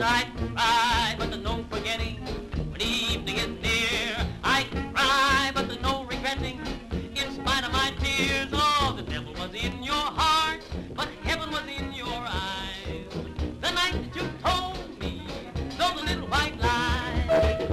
I cry, but there's no forgetting. When evening is near, I cry, but there's no regretting. In spite of my tears, oh, the devil was in your heart, but heaven was in your eyes. The night that you told me those little white lies.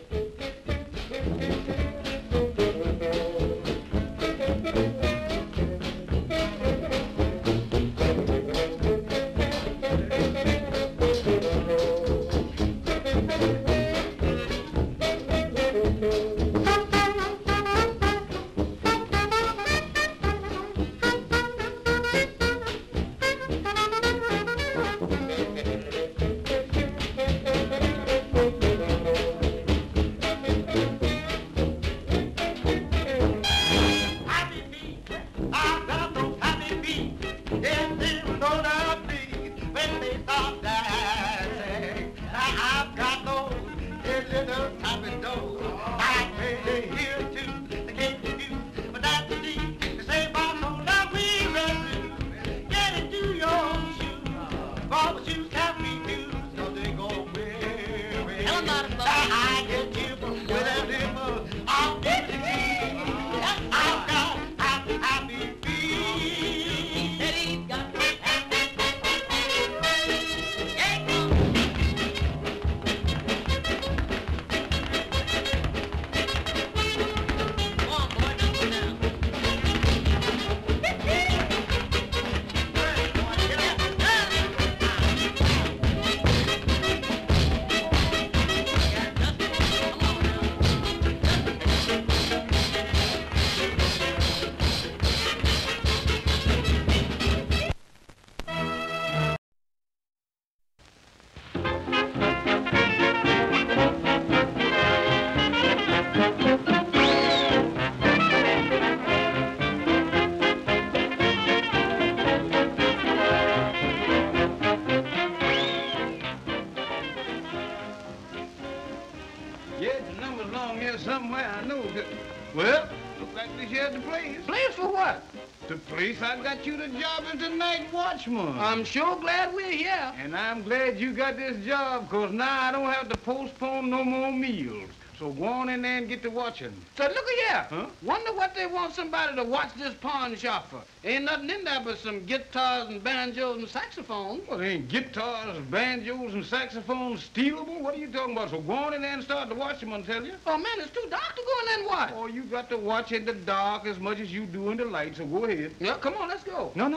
I'm sure glad we're here. And I'm glad you got this job, because now I don't have to postpone no more meals. So go on in there and get to watching. So look here. Huh? Wonder what they want somebody to watch this pawn shop for. Ain't nothing in there but some guitars and banjos and saxophones. Well, ain't guitars, banjos, and saxophones stealable? What are you talking about? So go on in there and start to watch them, I tell you. Oh, man, it's too dark to go in there and watch. Oh, you got to watch in the dark as much as you do in the light, so go ahead. Yeah, come on, let's go. No,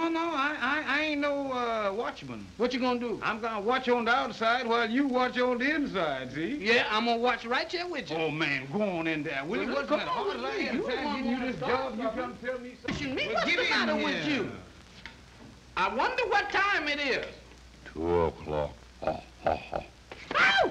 I ain't no watchman. What you gonna do? I'm gonna watch on the outside while you watch on the inside, see? Yeah, I'm gonna watch right here with you. Oh, man, go on in there, will you? Well, What's come that? on Hard with as I me. am You trying to want give you me this to job, start you come tell me something. Me, Well, what's get the in matter here. with you? I wonder what time it is. 2 o'clock. Ow!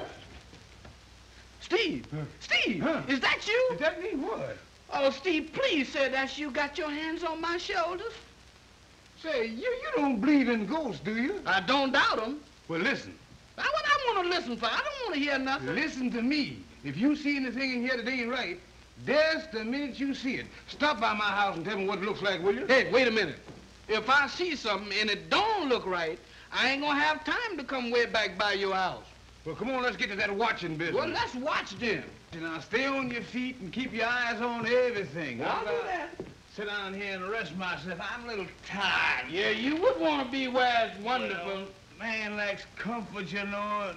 Steve! Steve! Huh? Is that you? Is that me? What? Oh, Steve, please say that's you got your hands on my shoulders. Say, you don't believe in ghosts, do you? I don't doubt them. Well, listen. What I want to listen for? I don't want to hear nothing. Listen to me. If you see anything in here that ain't right, just the minute you see it, stop by my house and tell me what it looks like, will you? Hey, wait a minute. If I see something and it don't look right, I ain't gonna have time to come way back by your house. Well, come on, let's get to that watching business. Well, let's watch then. Now, stay on your feet and keep your eyes on everything. I'll do that. Sit down here and rest myself. I'm a little tired. Yeah, you would want to be where it's wonderful. Well, man likes comfort, you know.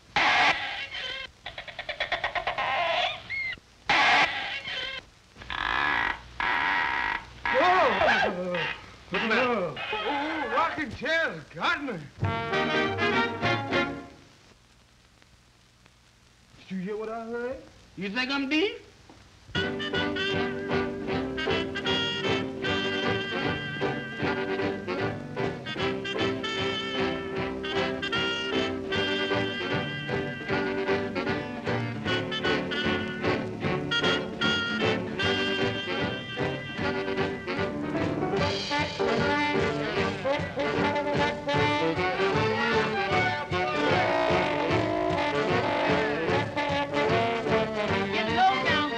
Whoa! What's that? Oh, rocking chair's got me. Did you hear what I heard? You think I'm deep? Get low down,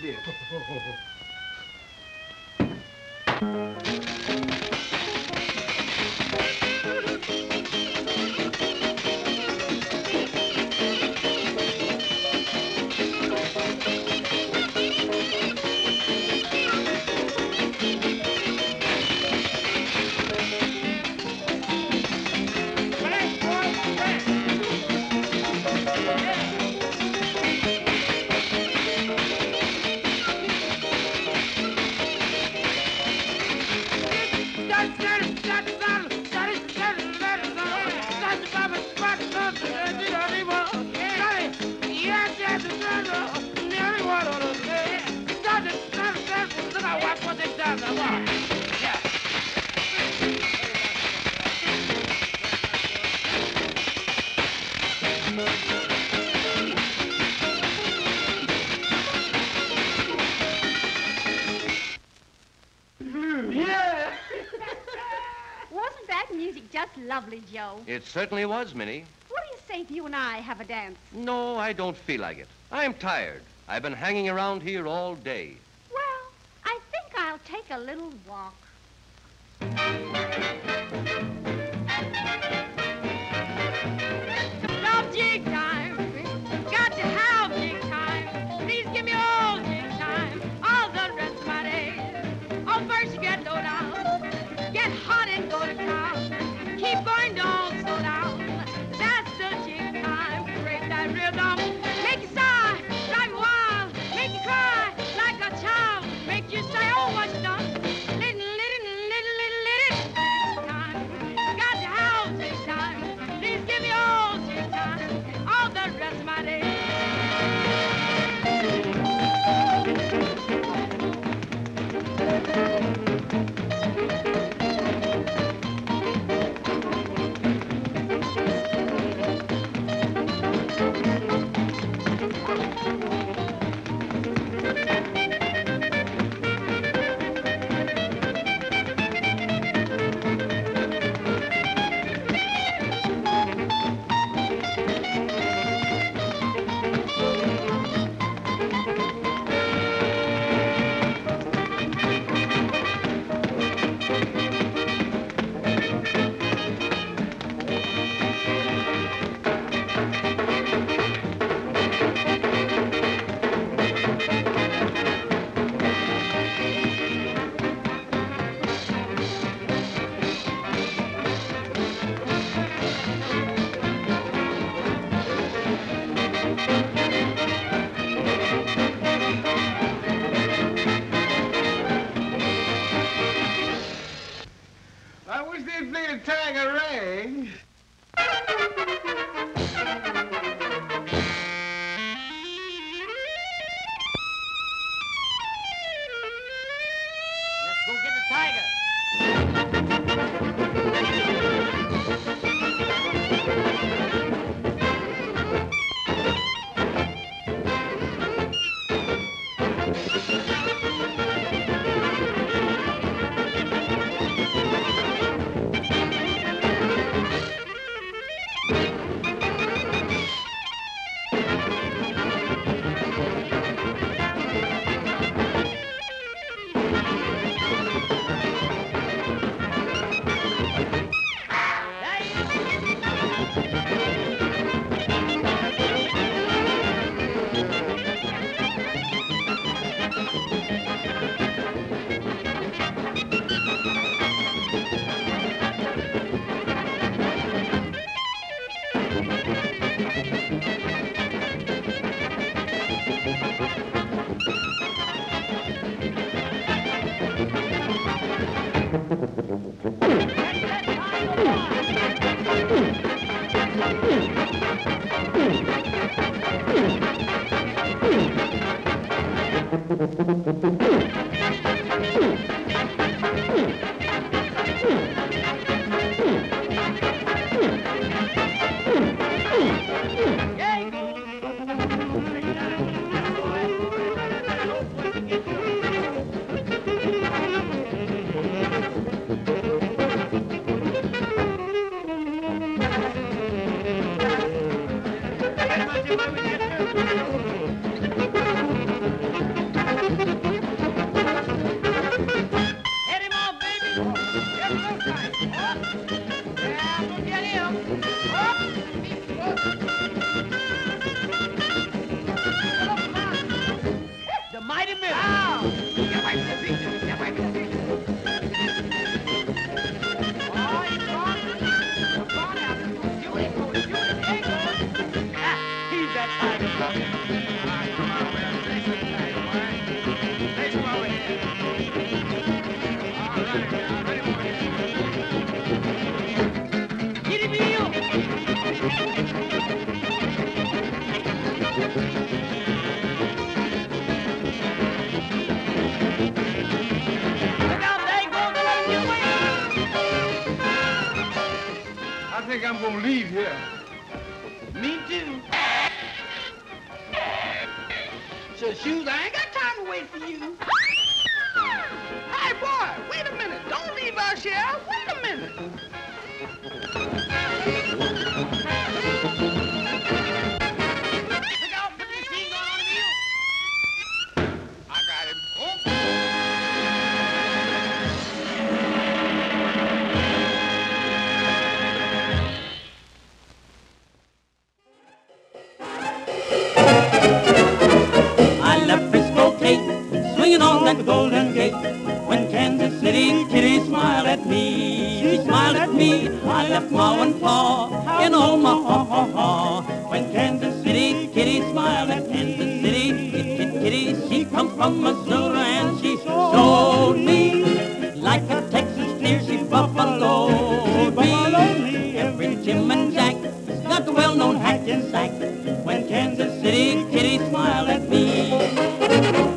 dear. Wasn't that music just lovely, Joe? It certainly was, Minnie. What do you say if you and I have a dance? No, I don't feel like it. I'm tired. I've been hanging around here all day. Well, I think I'll take a little walk. Love jig time. Got to have jig time. Please give me all jig time. All the rest of my days. Oh, first you get low down. Get hot and go to town. Keep going, don't slow down. That's the jig time. Break that rhythm. Make you sigh, drive you wild. Make you cry like a child. Make you say, oh, what's done? Time. Got to have jig time. Please give me all jig time. All the rest of my days. I wish they'd play the Tiger Rag. Let's go get the tiger. The mighty middle. That might be the picture. That might be the picture. Oh, he's gone. The barn out. Shoot it, go, shoot it. There he goes. Ah, he's that tiger. All right, come on, well, next one, tiger, all right? Next one over here. All right, now, ready for it. Get him in. Look out, there he goes. Let him get away. I think I'm gonna leave here. Me too. So, Shoes, I ain't got time to wait for you. Hey, boy, wait a minute. Don't leave us here. Wait a minute. Look out, put the machine gun on him. I got him. I left Frisco Kate, swinging on that golden gate. When Kansas City Kitty smiled at me, she smiled at me. I left Ma and Pa in Omaha. When Kansas City Kitty smiled at Kansas City Kitty, she come from Missouri and she showed me like a Texas steer. She buffaloed me. Every Jim and Jack got the well-known hack and sack. When Kansas City Kitty smiled at me.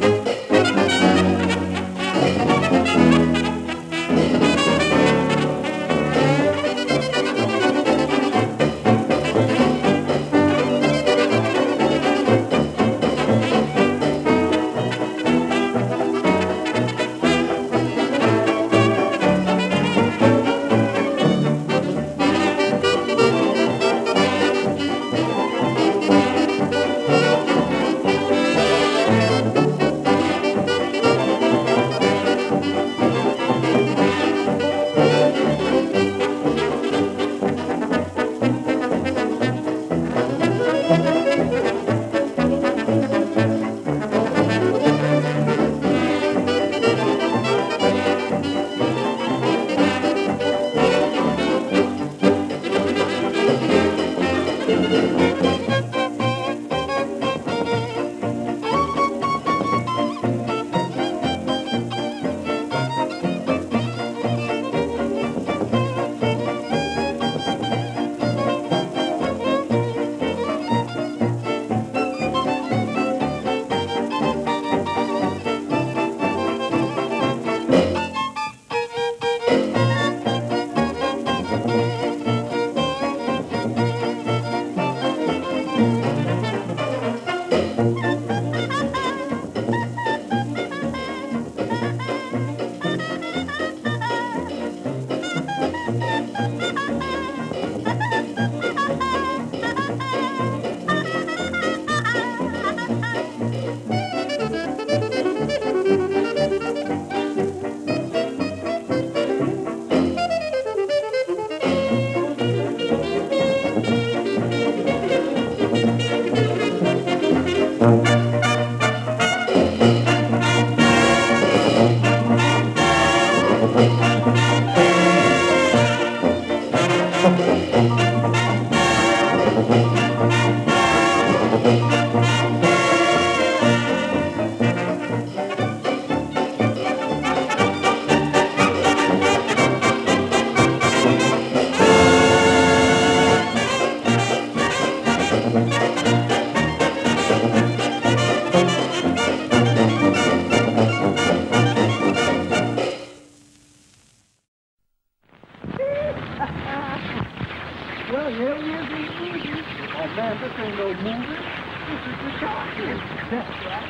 Well, here he is in the movie. Oh, man, this ain't no movie. This is the cartoon. That's right.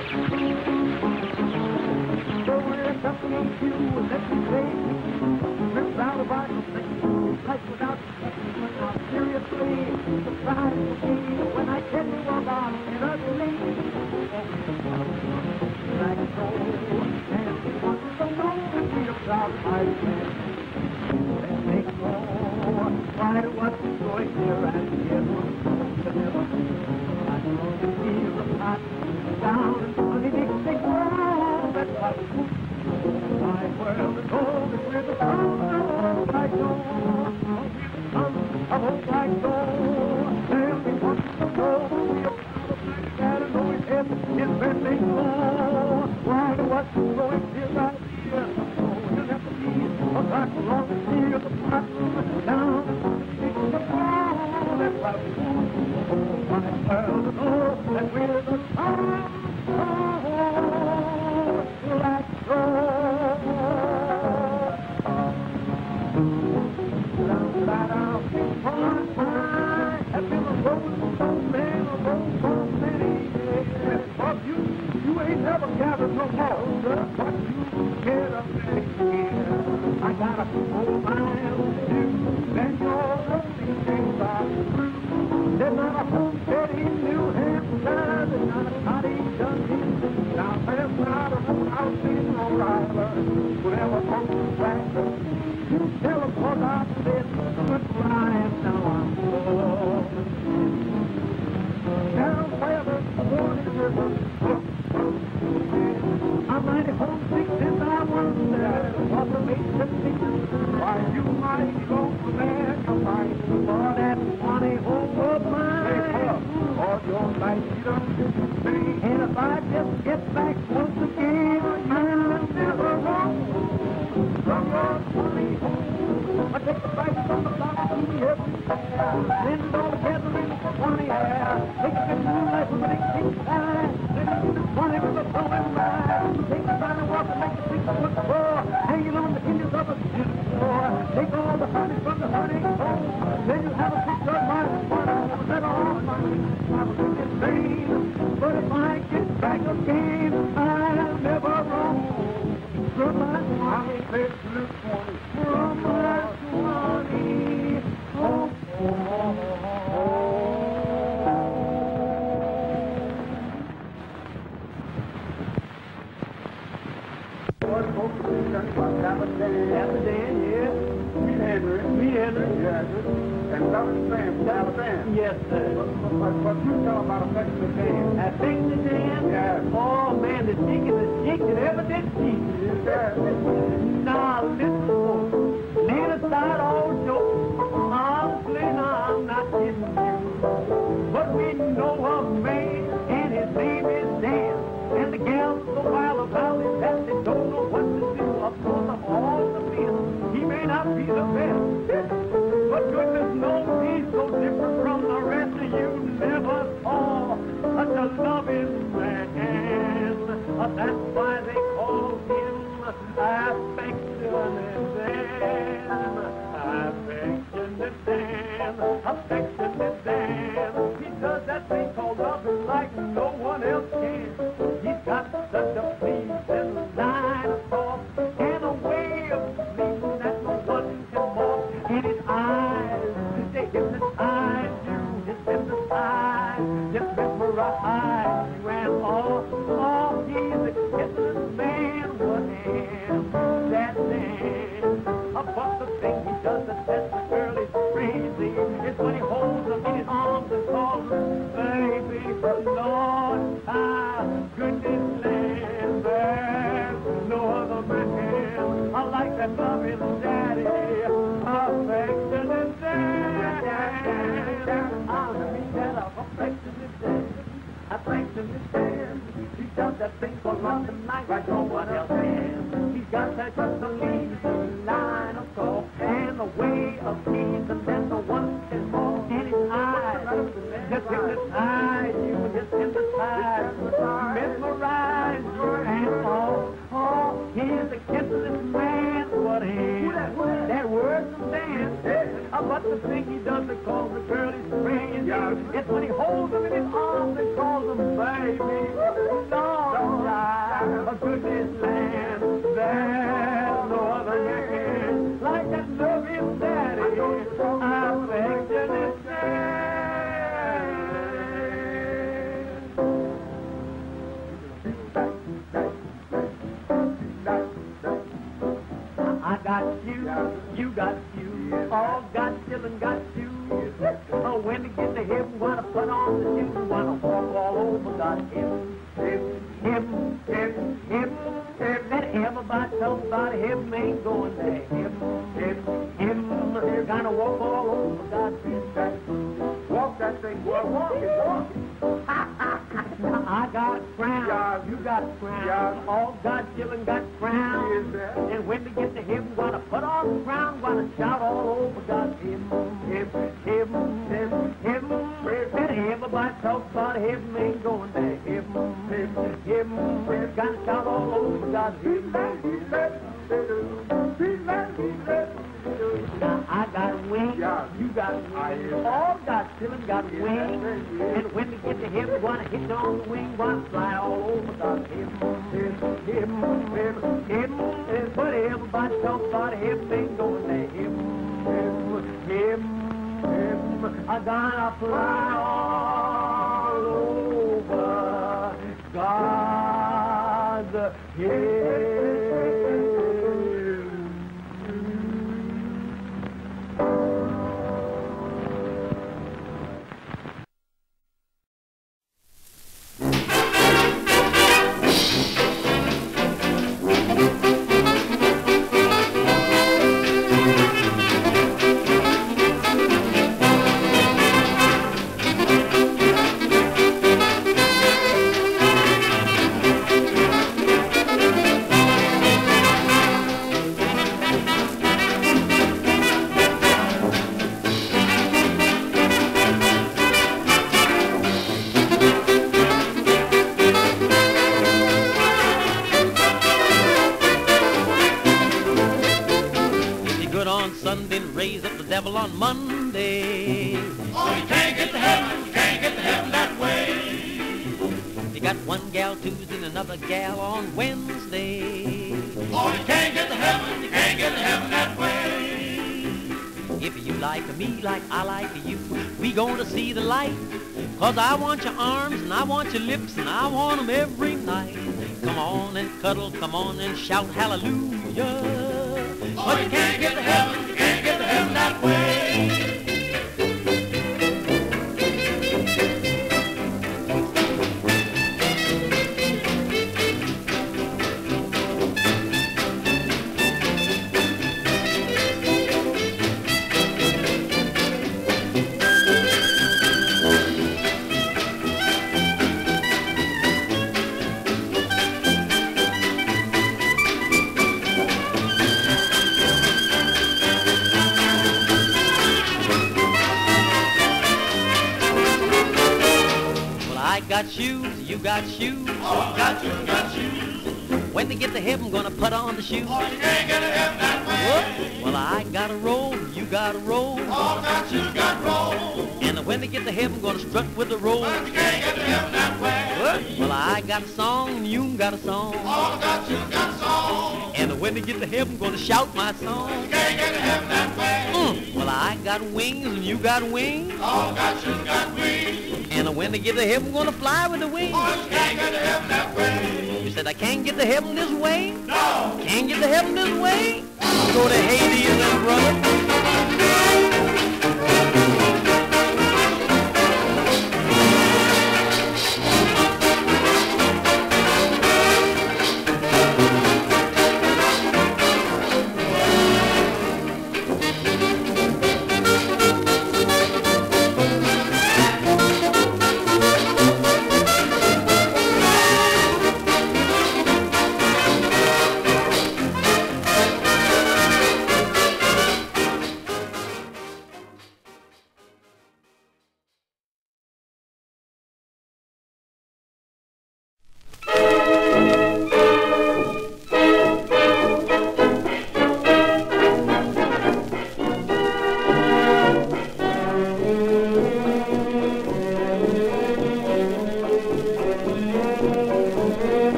So we're something on you, let me play. Rips out of our life without now seriously, surprise me when I tell you about an ugly like so, and he wants to know the freedom of my man. Let's make more. Why, what going here and here to never. I can feel the pot down underneath the ground. That's what my world is old with the sun of my door. Sun of old black door. Tell me what to go. Got to know his head is bending low. Why what's going here right here? Oh, you'll have to be a black long here the pot down underneath the ground. That's what my world is old and with the sun of black door. I've been a rolling so man, a rolling so many years. But you ain't never gathered no more. But you get up next year. I got a 4 miles to do. Then your rolling days are through. There's not a homestead in New Hampshire. There's not a cottage done in South. There's not a house in Rhode Island. Whatever comes to practice. You tell them what I said, good rhyme, now I'm full. Down where the morning river, I'm mighty homesick and I wonder what the makes me. Why you might go to there to fight for that funny home of mine. All your life you don't see. And if I just get back once again, I'll never roam from your funny home. I take the fight from the block to the everywhere. Then it all together in funny hair. Take a good moonlight from the big pink sky. Then it is funny with a blowing ride. Take the time to walk and make a 6-foot floor. Hanging on the hinges of a tin floor. Take all the honey from the honey comb. Then you have a picture of my water. That all my think it's vain. But if I get back again, I'll never roam from my mommy. From my money, oh, Captain Dan, yes. Me Henry. Yes. And Southern Sam. Yes, sir. What you tell about affecting the Dan? Affecting the Dan? Yes. Oh, man, the cheekiest cheek that ever did cheek. Yes, now, listen, folks. Leave aside all jokes. Honestly, no, I'm not kidding you. But we know a man, and his name is Dan. And the gals so wild about it that they don't know what to do. Of course, of all the men, he may not be the best. But goodness knows he's so different from the rest of you. Never saw such a loving man. That's why they call him Affectionate Dan. Affectionate Dan. Affectionate Dan. He does that thing called love like no one else can. He's got such a pleasing line of thought and a way of speaking that no one can mock. And his eyes, they hypnotize you, just hypnotize, just mesmerize you. And he's a kissless man, what am that man? But the thing he does that sets the girl is crazy. It's when he holds them in his arms and calls her baby. Lord, goodness land, there's no other man. I like that loving daddy, affectionate dad. I mean that affectionate dad, affectionate dad. He does that thing for London night like no one else can. He's got that just amazing line of talk and a way of teasing that no one can mock. And his eyes just hypnotize you, just hypnotize, mesmerize you, and he's a kissless man. What is that word from Dan? But the thing he does to call the girl is crazy. It's when he holds them in his arms and calls them baby. Lord, a goodness land, there's no other man like that loving daddy, affectionate I got you, you got you, all got children got you. Oh, when to get to heaven, wanna put on the shoes, wanna walk all over God. Him. Let everybody talk about him ain't going there. Him. Gonna walk all over God. Walk that thing, boy. Walk it. I got a crown. Yeah. You got a crown. Yeah. All God's children got crowns. Is that? And when they get to heaven, gonna put on the crown, gonna shout all over God. Him. Let everybody talk about heaven ain't going there. Him. Gonna shout all over God. Now I got a wing, Yeah. you got a wing, all God's children got a wing, and when they get to heaven, gonna hit on the wing, gonna fly all over God. Him, but everybody talk about heaven ain't going there. Him, I gonna fly all over God's head. On Monday. Oh, you can't get to heaven that way. You got one gal Tuesday and another gal on Wednesday. Oh, you can't get to heaven that way. If you like me like I like you, we gonna see the light. 'Cause I want your arms and I want your lips and I want them every night. Come on and cuddle, come on and shout hallelujah. Oh, you can't get to heaven that way. Got shoes, you got shoes. Oh, got shoes. When they get to heaven, gonna put on the shoes. Oh, you can't get to heaven that way. Whoop. Well, I got a roll, you got a roll. Oh, got roll. And when they get to heaven, gonna strut with the roll. But you can't get to heaven that way. Whoop. Well, I got a song, and you got a song. Oh, got song. And when they get to heaven, gonna shout my song. You can't get to heaven that way. Well, I got wings, and you got wings. Oh, got wings. And when they get to heaven, gonna fly with the wings. Oh, you can't get to heaven that way. You said I can't get to heaven this way? No. Can't get to heaven this way? Go to Hades then, brother.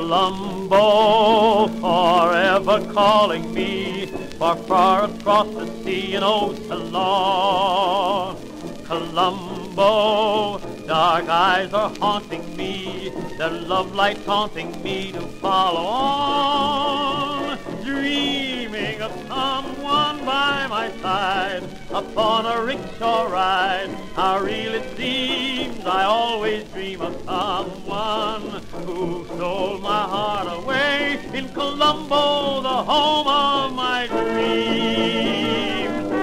Colombo, forever calling me, far across the sea in old Ceylon. Colombo, dark eyes are haunting me, their love light taunting me to follow on, dreaming of someone by my side, upon a rickshaw ride. How real it seems, I always dream of someone who stole my heart away in Colombo, the home of my dreams.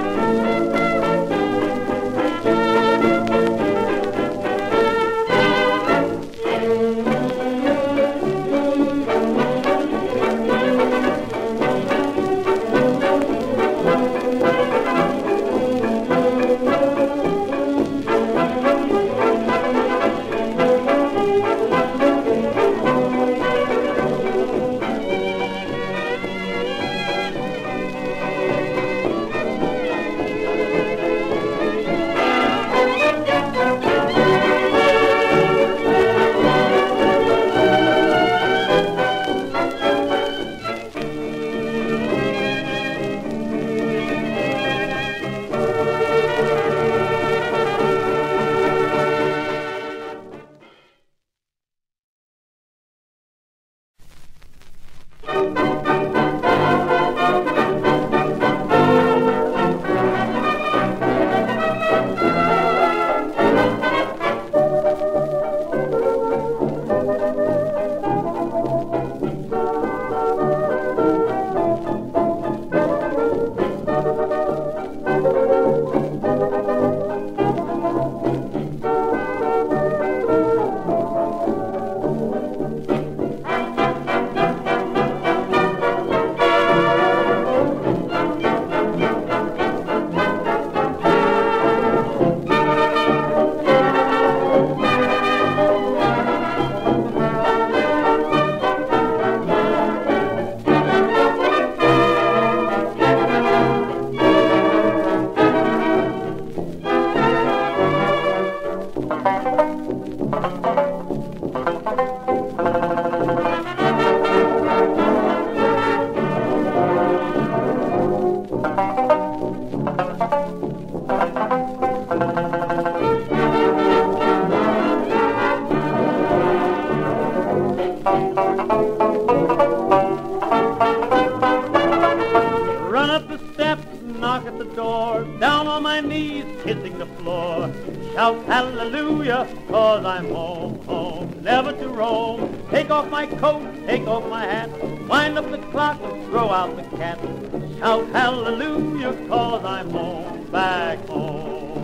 Run up the steps, knock at the door, down on my knees, kissing the floor. Shout hallelujah, 'cause I'm home, home, never to roam. Take off my coat, take off my hat, wind up the clock and throw out the cat. Shout hallelujah, 'cause I'm home, back home.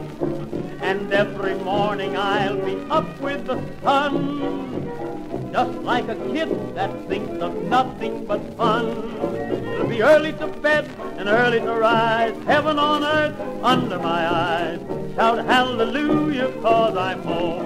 And every morning I'll be up with the sun, just like a kid that thinks of nothing but fun. It'll be early to bed and early to rise, heaven on earth under my eyes. Shout hallelujah, 'cause I'm home,